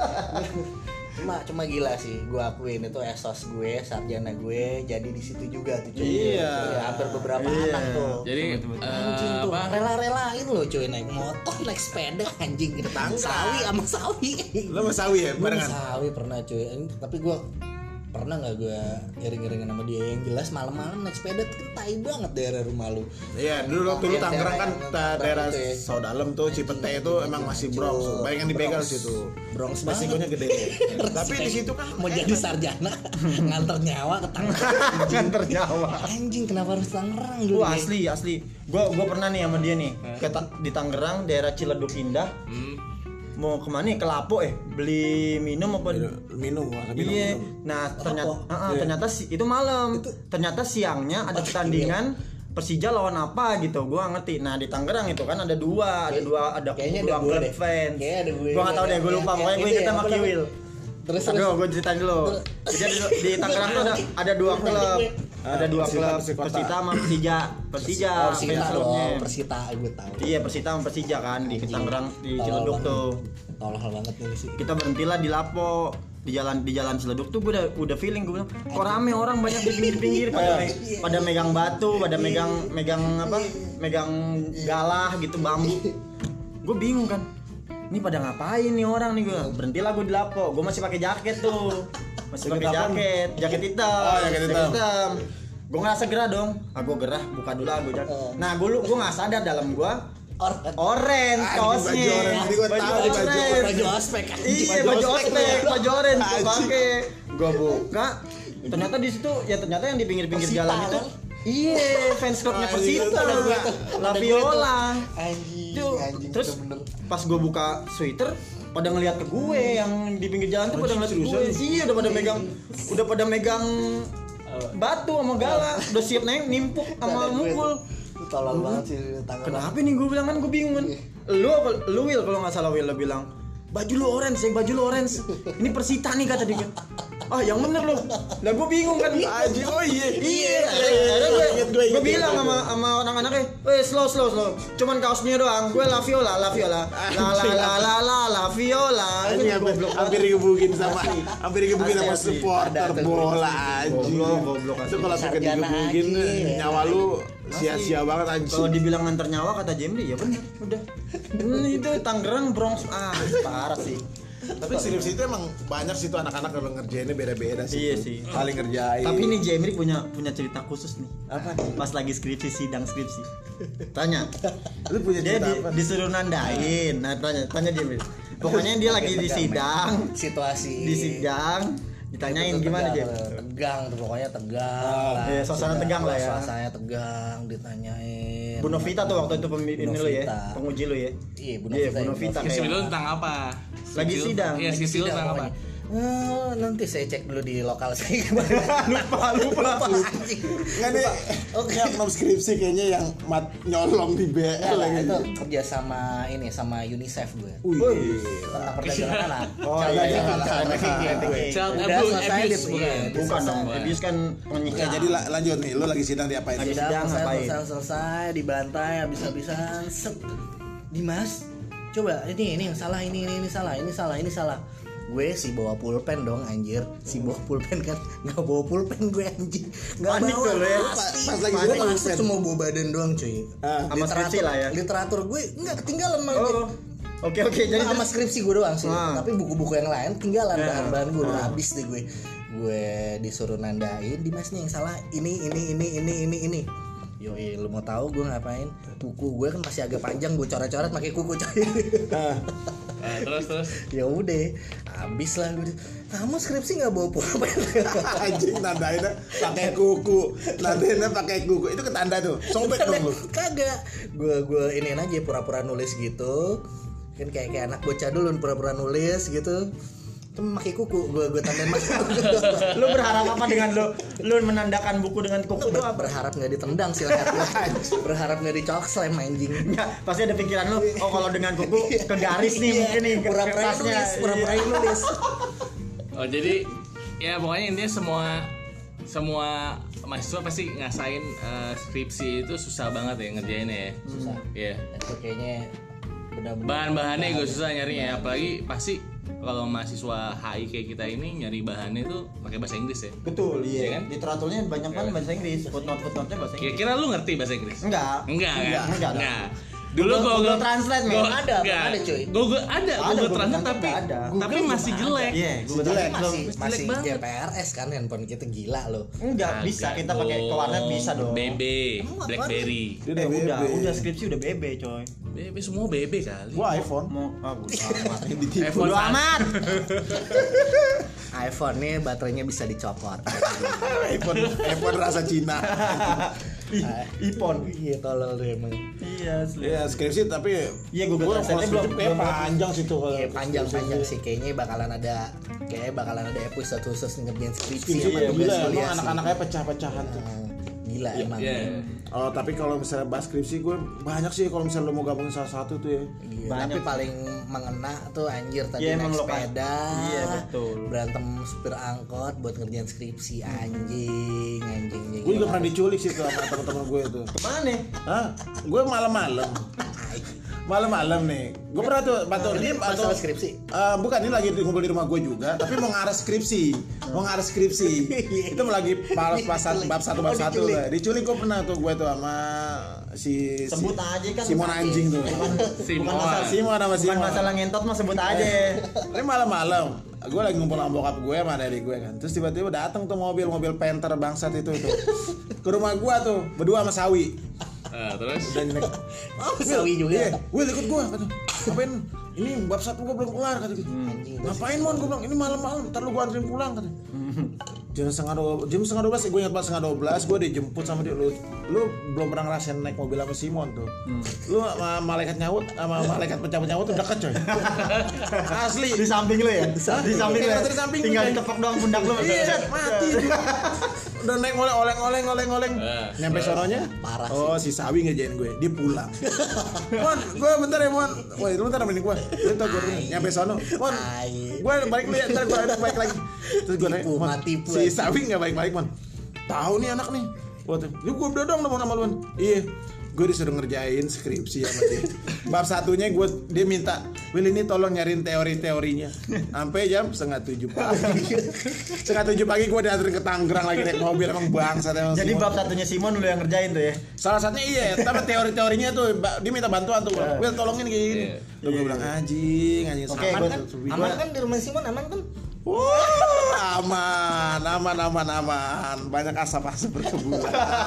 Cuma cuma gila sih, gue akuin itu esos gue, sarjana gue, jadi di situ juga tuh cuy. Iya. Ya, hampir beberapa Iya. anak tuh. Jadi Anjing eh, tuh, apa? rela-relain loh cuy naik motor, naik sepeda, anjing ke tetangga. Sawi sama sawi. Lo mau sawi ya Gue barengan? sawi pernah cuy, tapi gue pernah nggak gue iring-iringin sama dia. Yang jelas malam-malam naik sepeda tuh kan tai banget daerah rumah lu. Iya, dulu waktu lu Iya, Tangerang kan daerah- ta- daerah itu ya. Saudalem tuh Cipete itu emang masih Bronx. Banyak yang dibegal Bronx. situ. Bronx Resikonya banget. gede. Tapi di situ kan Mau jadi sarjana nganter nyawa ke Tangerang. Nganter nyawa. Anjing kenapa harus Tangerang dulu? Wah asli asli. Gua gua pernah nih sama dia nih ke Ta- di Tangerang daerah Ciledug Indah. Hmm. Mau kemana nih? Ke Lapo eh beli minum apa? minum, wah, minum. Iya. minum. Nah ternyata Lapo. ah, ah, ternyata si, itu malam. Ternyata siangnya ada pertandingan Persija lawan apa gitu. Gua nggak ngerti. Nah di Tangerang itu kan ada dua, ada dua ada Kayaknya dua ada gue klub deh. fans. Kayaknya ada gue. Gua nggak tahu deh, gua lupa. Pokoknya gue inget sama Kiwil. Terus terus. Aduh, gue ceritain dulu. Jadi ada, di Tangerang tuh ada, ada dua klub, ada dua Persita, klub, Persikota. Persita sama Persija. Persija, Persita fans klubnya. dong, Persita gue tahu. Iya, Persita sama Persija kan di Tangerang di Ciledug tuh. Tolol banget nih sih. Kita berhentilah di Lapo, di jalan di jalan Ciledug tuh gue udah udah feeling gue bilang kok rame orang banyak di pinggir-pinggir pada me- pada megang batu, pada megang megang apa? Megang galah gitu bambu. Gue bingung kan. Ini pada ngapain nih orang nih gue? Berhentilah gue di Lapo. Gue masih pakai jaket tuh. Masih pakai Jaket apaan? jaket, jaket hitam. Oh, jaket hitam. Gue ngerasa gerah dong. Ah gue gerah, buka dulu ah gue jaket. Nah, gue gue nggak sadar dalam gue Orang oren Ah, kaosnya. baju oren. Tadi gua tahu di baju oren. baju ospek anjing. Iya baju ospek, baju orange gue Anjing. pakai. Gue buka, ternyata di situ ya ternyata yang di pinggir-pinggir Persita, jalan itu, kan? iya fans clubnya Anjing, Persita, ada gua tuh. La Ada gua Viola. Anjing, Tuh, anjing. terus bener. pas gue buka sweater, pada ngeliat ke gue yang di pinggir jalan tuh pada ngeliat ke gue. Iya udah pada megang, udah pada megang batu sama galak, udah siap naik nimpuk sama mukul. Tolol banget sih tangan. Kenapa nih gue bilang kan gue bingung kan. Lu apa lu Will kalau enggak salah Will lo bilang, "Baju lu orange, ya, baju lu orange. Ini Persita nih," kata dia. Ah, yang bener lo. Lah gue bingung kan. Aji, oh iya. Iya, akhirnya gue gue bilang sama sama anak-anaknya, "Weh, slow slow slow. Cuman kaosnya doang. Gue La Viola, La Viola. La la la la la La Viola." Ini hampir, hampir digebukin sama hampir digebukin sama supporter bola anjing. Goblok, goblok. Itu kalau sampai digebukin nyawa lu sia-sia banget anjing. Kalau dibilang nganter nyawa kata Jemli ya bener, udah. Ini itu Tangerang Bronx ah parah sih. Tapi skripsi itu emang banyak sih tuh anak-anak kalau ngerjainnya beda-beda sih. Iya sih. Paling ngerjain. Tapi ini Jemri punya punya cerita khusus nih. Apa? Pas lagi skripsi sidang skripsi. Tanya. Lu punya Dia cerita di, apa? disuruh nandain. Nah, tanya tanya Jemri. Pokoknya dia lagi di sidang, Situasi di sidang ditanyain gimana Jem? Tegang tuh pokoknya tegang lah. iya, suasana Sidang, tegang lah ya. Suasananya tegang ditanyain. Bu Novita tuh waktu itu pemimpin Bu lu ya, Novita. penguji lu ya. Iya, Bu Iya, Novita. Bu Novita. Skripsi kayak- lu tentang apa? Lagi Skripsi lu- sidang. Iya, Lagi skripsi lu sidang tentang apa? pokoknya. Eh, nanti saya cek dulu di lokal saya. lupa lupa. anjing. Enggak nih. Oke, oknum skripsi kayaknya yang mat nyolong di B L Nah, lagi. itu kerja sama ini sama UNICEF gue. Wih. Tentang perdagangan anak. Oh, Child iya, iya, trafficking, iya, child iya, trafficking iya, gue. iya. Child Udah abuse, selesai abuse, di- bukan? iya, Bukan dong, Bukan. abuse kan Oke, menyiksa. jadi la- lanjut nih, lu lagi sidang diapain? Lagi Sudah sidang selesai, ngapain? selesai, selesai, dibantai habis-habisan. Set. Dimas, coba ini ini yang salah, ini ini ini salah, ini salah, ini salah. Gue sih bawa pulpen dong anjir. Si bawa pulpen kan nggak bawa pulpen gue anjing. Nggak Panik bawa. tuh lo ya. Pasti. Pas lagi Gue sidang masuk pulpen. cuma bawa badan doang cuy. Ah, sama skripsi lah ya. Literatur gue nggak ketinggalan malah. Oh. Oke oke jadi Nah, sama skripsi gue doang sih. Ah. Tapi buku-buku yang lain ketinggalan, Ya. bahan-bahan gue udah Ah. habis deh gue. Gue disuruh nandain, Dimas nih yang salah. Ini ini ini ini ini ini. Yoi, lu mau tahu gue ngapain? Kuku gue kan masih agak panjang, gue coret-coret pakai kuku coy. Nah, terus terus. Ya udah, habis lah gue. Kamu skripsi nggak bawa pulpen? anjing nandainnya pakai kuku. Nandainnya pakai kuku. Itu ketanda tuh. Sobek dong lu. Kagak. Gue gue iniin aja pura-pura nulis gitu. Kan kayak kayak anak bocah dulu pura-pura nulis gitu. Itu pakai kuku, gue gue tandain mas. lu berharap apa dengan lu lu menandakan buku dengan kuku itu apa? Berharap nggak ditendang sih leher gue. Berharap nggak dicok slam anjing. Enggak, pasti ada pikiran lu, oh kalau dengan kuku ke garis nih Iya, mungkin nih ke pura-pura kertasnya. nulis, pura-pura nulis. Oh, jadi ya pokoknya intinya semua semua mahasiswa pasti ngasain eh, skripsi itu susah banget ya ngerjainnya ya. Susah. Iya. Itu kayaknya benar-benar Bahan-bahannya juga susah nyarinya, apalagi pasti kalau mahasiswa H I kayak kita ini nyari bahannya itu pakai bahasa Inggris ya. Betul, Iya iya kan? Literaturnya banyak banget bahasa Inggris, footnote-footnote-nya bahasa Inggris. Kira-kira lu ngerti bahasa Inggris? Enggak. Enggak, Enggak, kan? enggak. Enggak. Dulu Google- Google, Google Translate, men. Google- Ada, enggak. ada, cuy. Google ada, Ada, Google Google Translate Translate tapi ada. tapi Google masih juga jelek. Iya, Google Jelek. Translate masih Jelek masih banget. G P R S kan handphone kita gila loh. Enggak bisa kita pakai ke warnet bisa dong. B B, Emang apaan? BlackBerry. Dia Eh, udah, B B. udah skripsi udah B B coy. B B semua B B kali. Gua iPhone. Mau ah bodo amat. iPhone Bodo amat. iPhone nih baterainya bisa dicopot. iPhone iPhone rasa Cina. Ih, iPhone. Iya tolol deh emang. Iya, asli. Ya skripsi tapi Iya, Google gua Translate-nya kalau belum- skripsi kayak belum- panjang sih tuh kalau Iya panjang-panjang skripsi. sih kayaknya bakalan ada kayaknya bakalan ada episode khusus ngerjain skripsi Skripsi sama iya, tugas gila kuliah emang sih. anak-anaknya pecah-pecahan tuh. Ah, Gila Iya, emang. iya. Oh tapi kalau misalnya bahas skripsi gue banyak sih kalau misalnya lo mau gabungin salah satu tuh ya. Gila, Banyak. tapi paling mengena tuh anjir tadi Iya, naik emang lo kan. sepeda. Iya, betul. Berantem supir angkot buat ngerjain skripsi anjing, anjing anjing. Gue juga pernah diculik sih tuh sama teman-teman gue tuh. Kemana? Hah? Gue malam-malam. Malam-malam nih. Gue pernah tuh batu Ini dia batu. masalah skripsi. Eh, bukan ini lagi ngumpul di rumah gue juga, tapi mau ngarah skripsi, mau ngarah skripsi. Itu mau lagi pas pas satu- bab satu bab Oh, satu. diculik. lah. Diculik gue pernah tuh gue tuh sama si Sebut si, aja kan. Simon anjing tuh. Simon. Bukan masalah Simon sama Bukan Simon. masalah ngentot mah sebut aja. Ini malam-malam, gue lagi ngumpul sama bokap gue sama adik gue kan. Terus tiba-tiba datang tuh mobil mobil Panther bangsat itu itu ke rumah gue tuh berdua sama Sawi. Eh, terus Dan naik, Oh, sawi juga. Iya, Will ikut gue kata. Ngapain? Ini bab satu gue belum kelar kata gitu. Anjing, itu Ngapain mon? Gue bilang ini malam-malam. Ntar lu gue anterin pulang kata. Jam setengah dua, jam setengah dua belas, gue ingat pas setengah dua belas, gue dijemput sama dia. Lu, lu belum pernah ngerasain naik mobil sama Simon tuh. Hmm. Lu sama malaikat nyaut, sama malaikat pencabut nyaut tuh deket coy. Asli. Di samping lu ya? Di samping, di samping lu. Ya? Di samping tinggal ditepok doang pundak lu. Iya, mati. Udah naik oleng oleng oleng oleng oleng. Nyampe sononya. Parah sih. Oh, si Sawi ngejain gue. Dia pulang. Mon, gue bentar ya, Mon. Wah, itu bentar nemenin gue. Dia tau gue nyampe sono. Mon. Gue balik lu ya, ntar gue balik lagi. Terus gue nanya, Mon, si Sawi nggak balik-balik, Mon. Tahu nih anak nih. Waktu, lu gue udah dong nama lu. Iya. Gue disuruh ngerjain skripsi sama dia. Bab satunya gue dia minta, Will ini tolong nyariin teori-teorinya. Sampai jam setengah tujuh pagi. Setengah tujuh pagi gue dianterin ke Tangerang lagi naik mobil emang bangsa. Jadi Simon. Bab satunya Simon lu yang ngerjain tuh ya? Salah satunya iya, tapi teori-teorinya tuh dia minta bantuan tuh. Will tolongin kayak gini. Terus gue bilang anjing, anjing okay, aman kan? Aman kan di rumah Simon aman kan? Wah, aman, aman, aman, aman. Banyak asap-asap berkebulan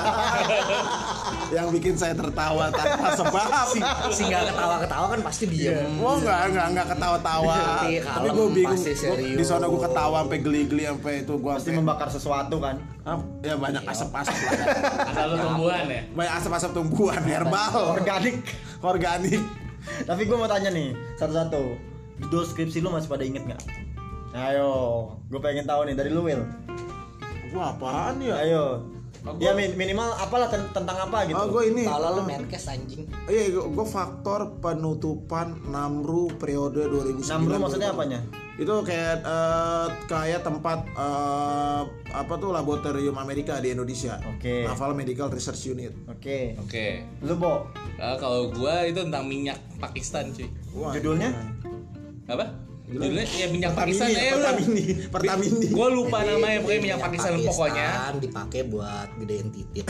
yang bikin saya tertawa tanpa sebab. Si, si nggak ketawa-ketawa kan pasti diem. Oh enggak, enggak, enggak ketawa-tawa. Tapi, Tapi gue bingung. Gua, di sana gue ketawa sampai geli-geli sampai itu gue pasti membakar sesuatu kan. Ya banyak asap-asap lah. Ada lu tumbuhan ya? Banyak asap-asap tumbuhan herbal, organik, organik. Tapi gue mau tanya nih satu-satu. Judul skripsi lu masih pada inget nggak? Ayo, gue pengen tahu nih dari lu Will. Wah apaan ya? Ayo. Oh, ya min- minimal apalah ten- tentang apa gitu. Oh gue ini. Kalau lu menkes anjing. Iya, gue faktor penutupan Namru periode dua ribu sembilan. Namru maksudnya apanya? Itu kayak uh, kayak tempat uh, apa tuh laboratorium Amerika di Indonesia. Oke. Okay. Naval Medical Research Unit. Oke. Okay. Oke. Okay. Lu Bo? Uh, kalau gua itu tentang minyak Pakistan cuy. Wah, judulnya? Apa? Judulnya ya minyak Pertamini, Pakistan ya Pertamini, Pertamini. Gue lupa namanya pokoknya minyak Pakistan, Pakistan pokoknya. Dipakai buat gedein titit.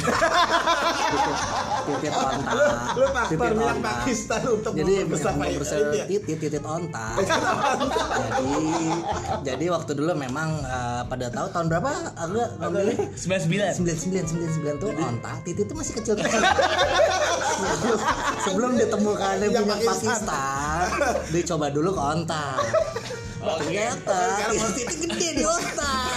Titit onta. Lu faktor minyak Pakistan untuk jadi membesar titit titit onta. Jadi jadi waktu dulu memang uh, pada tahu tahun berapa agak ngambilnya sembilan sembilan sembilan sembilan sembilan sembilan tuh onta titit itu masih kecil kecil. Sebelum ditemukan minyak Pakistan, dicoba dulu ke onta. Oh, ternyata titik gede di otak.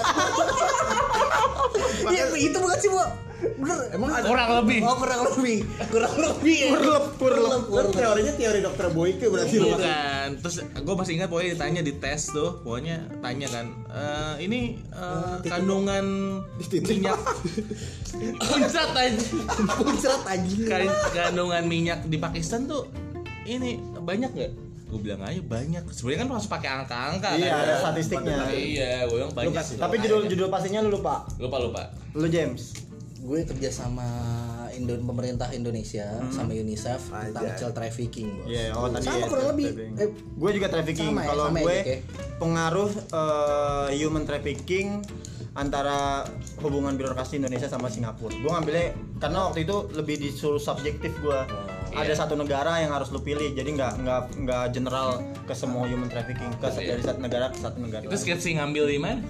Iya itu bukan sih Bu. Bener. Emang ada kurang lebih. Oh kurang lebih. Kurang lebih. Ya. Kurlep, kurlep. Kurlep. Teorinya teori dokter Boyke berarti. Bukan. Terus gue masih ingat pokoknya ditanya di tes tuh, pokoknya tanya kan, e, ini uh, kandungan minyak puncrat aja. Puncrat aja. Kandungan minyak di Pakistan tuh ini banyak nggak? Gue bilang aja banyak. Sebenarnya kan harus pakai angka-angka. Iya, kan? Ada statistiknya. Iya, gue bilang banyak. Tapi judul judul pastinya lu lupa. Lupa lupa. Lu James. Gue kerja sama Indo pemerintah Indonesia hmm. sama UNICEF tentang child trafficking. Iya, yeah, oh tadi sama ya, kurang lebih. Eh, gue juga trafficking. Ya, kalau gue ya, pengaruh uh, human trafficking antara hubungan birokrasi Indonesia sama Singapura. Gue ngambilnya karena waktu itu lebih disuruh subjektif gue. Oh, ada iya. Satu negara yang harus lu pilih, jadi nggak nggak nggak general ke semua human trafficking ke iya. Dari satu negara ke satu negara. Itu skripsi ngambil di mana?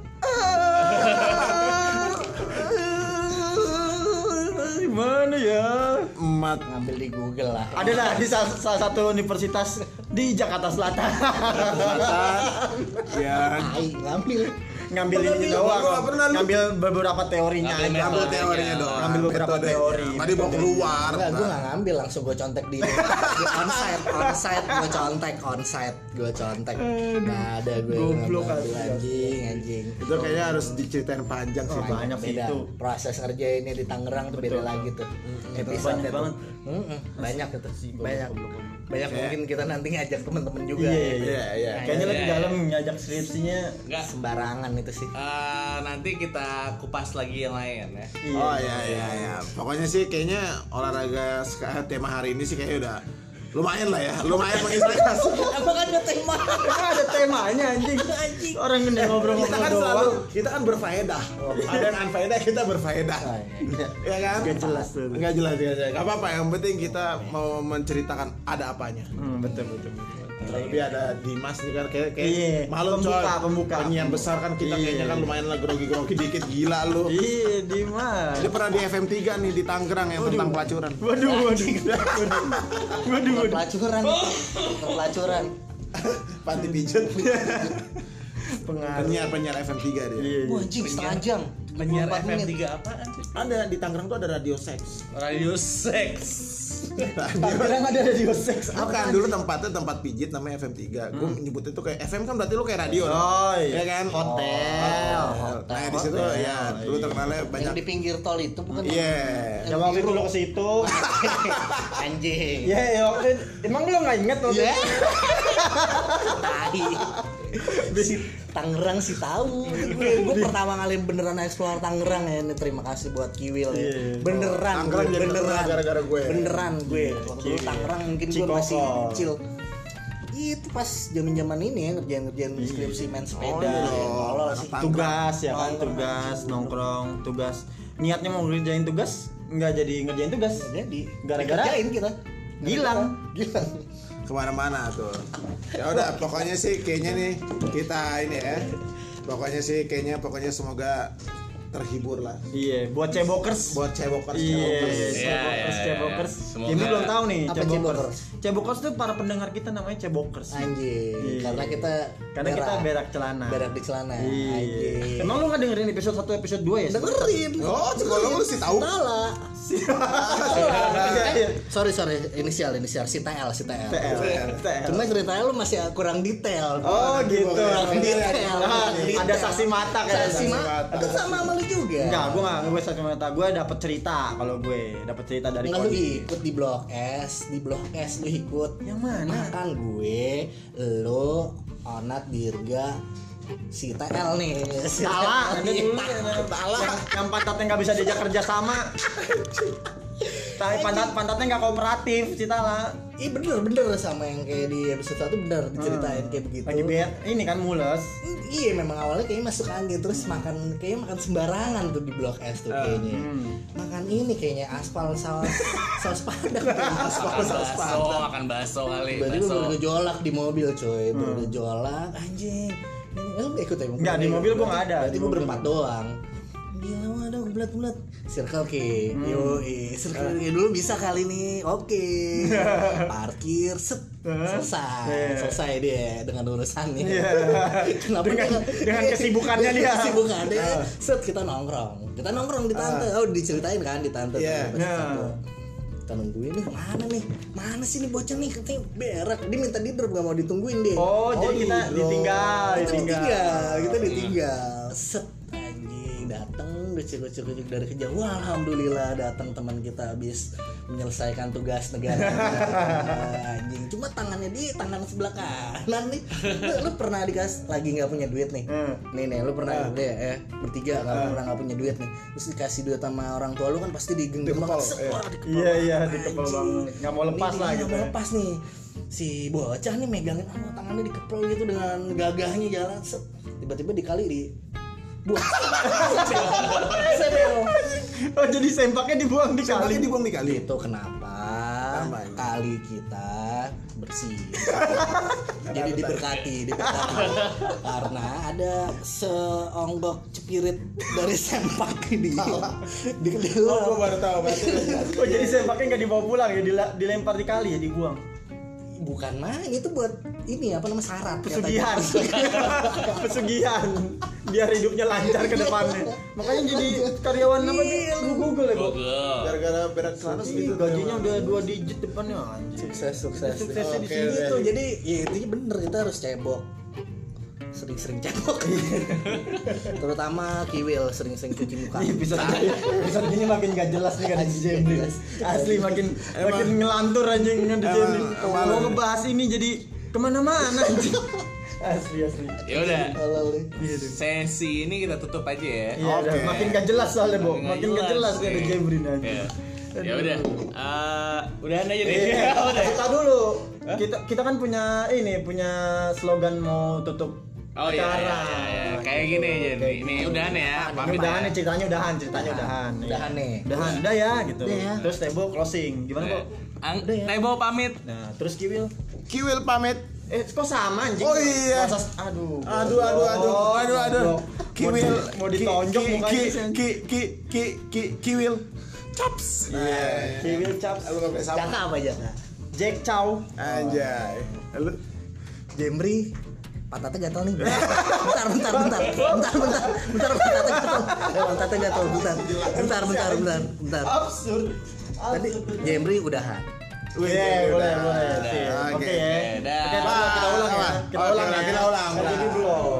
Gimana ya? Emat ngambil di Google lah. Ada lah di salah, salah satu universitas di Jakarta Selatan. Ya, ngambil ngambil ini doang, ngambil beberapa teorinya, ngambil teorinya doang, ngambil beberapa teori. Tadi mau keluar. Enggak, gue nggak ngambil, langsung gue contek di, di onsite, onsite gue contek, onsite gue contek. Nggak ada gue goblok anjing, anjing. Itu kayaknya harus diceritain panjang sih, banyak sih itu. Proses kerja ini di Tangerang tuh beda lagi tuh. Episode banget. Banyak itu sih, banyak. Banyak mungkin kita nanti ngajak temen-temen juga. Iya iya iya. Kayaknya lebih dalam ngajak skripsinya nggak sembarangan itu sih. Uh, nanti kita kupas lagi yang lain ya. Oh iya iya iya. Pokoknya sih kayaknya olahraga tema hari ini sih kayaknya udah lumayan lah ya, lumayan menginspirasi. Emang ada tema? Ada temanya anjing. Anjing. Orang gede ngobrol-ngobrol kita kan doang. Selalu, kita kan berfaedah. Oh, ada yang unfaedah, kita berfaedah. Oh, iya. Ya kan? Gak jelas tuh. Gak jelas, gak jelas. Gak apa-apa, yang penting kita mau menceritakan ada apanya. Hmm, betul betul betul. Terlebih ada Dimas nih kan kayak kayak iya, malu pembuka, coy. Pembuka, penyiar besar kan kita iya. Kayaknya kan lumayan lah grogi-grogi dikit gila lu. Iya, Dimas. Dia pernah di F M tiga nih di Tangerang yang waduh. Tentang pelacuran. Waduh, waduh. Waduh, pelacuran. Pelacuran. Panti pijet. Pengaruh. Penyiar-penyiar F M tiga dia. Iya. Wah anjing setengah jam. Penyiar dua puluh empat F M menit. tiga apaan sih? Ada di Tangerang tuh ada radio seks. Radio seks. Tangerang ada radio seks. Bukan, dulu tempatnya tempat pijit namanya F M tiga. Gue nyebutnya tuh kayak F M kan berarti lu kayak radio. Oh, iya. Ya kan? Hotel. Hotel. Nah, di situ ya dulu terkenalnya banyak. Yang di pinggir tol itu bukan? Iya. Ya waktu itu lo ke situ. Anjing. Ya, ya waktu itu- emang lo enggak inget waktu Iya. itu? Tai. Si Tangerang sih tahu. Gue gue pertama kali beneran explore Tangerang ya. Ini terima kasih buat Kiwil ya. Iya. Beneran gue, Tangerang jadi beneran. terkenal gara-gara gue. Beneran gue. Waktu dulu Kiwil. Tangerang mungkin gue Cikoko. masih kecil. Itu pas zaman-zaman ini ya ngerjain-ngerjain skripsi main sepeda. iya. ya. Tolol sih. Tugas ya kan, Nongkrong. tugas nongkrong, tugas. Niatnya mau ngerjain tugas, nggak jadi ngerjain tugas. Jadi Gara-gara- dikerjain kita. Gilang. Gilang. Kemana-mana tuh. Ya udah, pokoknya sih kayaknya nih kita ini ya. Pokoknya sih kayaknya pokoknya semoga terhibur lah. Iya, buat cebokers. Buat cebokers, Iya, cebokers. Iya, cebokers, iya, cebokers. iya. Semoga- Ini belum tahu nih, Apa cebokers. cebokers? Cebokers tuh para pendengar kita namanya cebokers. Anjing. Iya. Karena kita Karena kita berak celana. Berak di celana. Iya. Anjing. Emang lu nggak dengerin episode satu, episode dua ya? Dengerin. Oh, kalau lu sih tahu. Salah. Iya, iya. Sorry sorry inisial inisial si T L si T L. T L. T L. Cuma ceritanya lu masih kurang detail. Oh gitu. Kurang detail. Ah, kurang detail. ada saksi mata kayak Saksi mata. Itu sama sama lu juga. Enggak, gue nggak gue saksi mata. Gue dapet cerita kalau gue dapet cerita dari Enggak lu Kodi. ikut di blok S, di blok S lu ikut. Yang mana? Makan gue, lu, Onat, Dirga, si T L nih. Si Salah, T L ada nih. dulu Salah. yang, yang pantatnya nggak bisa diajak kerja sama. Tapi pantat pantatnya nggak kooperatif, Citala. Ih bener bener sama yang kayak di episode satu bener diceritain kayak begitu. Lagi bed, ini kan mules. Iya memang awalnya kayaknya masuk angin terus makan kayaknya makan sembarangan tuh di blok S tuh kayaknya. hmm. Makan ini kayaknya aspal saus saus padang kayaknya. aspal Makan saus bakso, padang. makan bakso kali. Berarti gue Bakso. bergejolak di mobil coy, bergejolak anjing. Ini lu gak ikut ya? Nggak, di mobil gua nggak ada. Berarti Di gue mobil berempat doang. Gila ada bulat-bulat. Circle K. Hmm. Yo, Circle K dulu bisa kali nih. Oke. Parkir set. Selesai. Iya. Selesai dia dengan urusannya. Iya. Kenapa Dengan- dia- dengan kesibukannya dia. Kesibukannya. Ah. Set kita nongkrong. Kita nongkrong di tante. Oh, diceritain kan di tante. Iya. Pas di tante. Nah. Kita nungguin nih mana nih mana sih nih bocah nih katanya berak dia minta di drop gak mau ditungguin deh. Oh, jadi kita di drop. ditinggal, kita ditinggal. ditinggal kita ditinggal set anjing datang gocek-gocek dari kejauhan. Wah, alhamdulillah datang teman kita habis menyelesaikan tugas negara. Anjing cuma tangannya di tangan sebelah kanan nih. Lu, lu pernah dikasih lagi nggak punya duit nih Hmm. nih nih lu pernah udah ya eh, bertiga nggak pernah nggak punya duit nih terus dikasih duit sama orang tua lu kan pasti digenggam Dikepal, banget. Set, iya. wah, dikepal Iya, iya, banget, dikepal anjing. banget. Nggak mau lepas Ini lah dia, gitu nggak mau ya. lepas nih si bocah nih megangin oh, tangannya dikepel gitu dengan gagahnya jalan set tiba-tiba dikali di buang sebel Oh, jadi sempaknya dibuang di kali. Kali dibuang di kali. itu kenapa Kenapa ini? kali kita bersih jadi diberkati diberkati karena ada seonggok cepirit dari sempak di di di Oh, gua baru tahu berarti. Oh, jadi sempaknya nggak dibawa pulang ya, dila- dilempar di kali ya, dibuang. bukan main itu buat ini apa namanya syarat Pesugihan. katanya. Pesugihan. Biar hidupnya lancar ke depannya. Makanya jadi karyawan apa Iya, tuh? Google ya, Bu. Google. Gara-gara berak celana Ih, segitu. gajinya udah dua digit depannya anjir. sukses sukses Suksesnya di Oke, sini. oke. itu jadi ya itu bener kita harus cebok sering-sering cebok terutama Kiwil sering-sering cuci muka Ih, bisa bisa gini makin gak jelas nih kan di Jemri. Asli makin makin ngelantur anjing kan di Emang- Jemri. emang- Mau ngebahas ini jadi kemana-mana anjing. Asli asli. Ya udah. Tolol nih. Sesi ini kita tutup aja ya. Iya, Oke. udah makin gak jelas soalnya, Bo. Makin gak jelas nih. ada Jemri Ya. anjing. Ya udah. Eh, udahan aja deh. Iya, Udah. kita dulu. Kita kita kan punya ini, punya slogan mau tutup Oh iya, acara. iya, iya, iya. Kayak gini aja nih. Kayak Ini gini. udahan ya. Ini Pamit udahan ya. nih ceritanya udahan, ceritanya udahan. Iya. Udahan nih. Udahan, udah ya gitu. Udah ya. Terus Tebo closing. Gimana, Bo? Ang, Tebo pamit. Nah, terus Kiwil. Kiwil pamit. Eh, kok sama anjing? Oh iya. Masa- aduh. Aduh, aduh, aduh, aduh, aduh. Goblok. Kiwil Mau di- mau ditonjok Ki- mukanya Ki- sih. Ki Ki Ki Ki Kiwil. Caps. Iya, Kiwil caps. Lu enggak sama. Jaka apa Jaka? Jack Chow. Anjay. Lu Jemri pantatnya gatel nih. Bentar, bentar, bentar, bentar, bentar, bentar, pantatnya gatel. Eh, pantatnya gatel, bentar, bentar, bentar, bentar, bentar. Absurd. Tadi Jemri udahan. Wih, boleh, boleh. Oke, Oke. oke ya. Dah. Oke, kita ulang ya. Kita Oke, ulang ya. kita ulang, ulang. Jadi belum.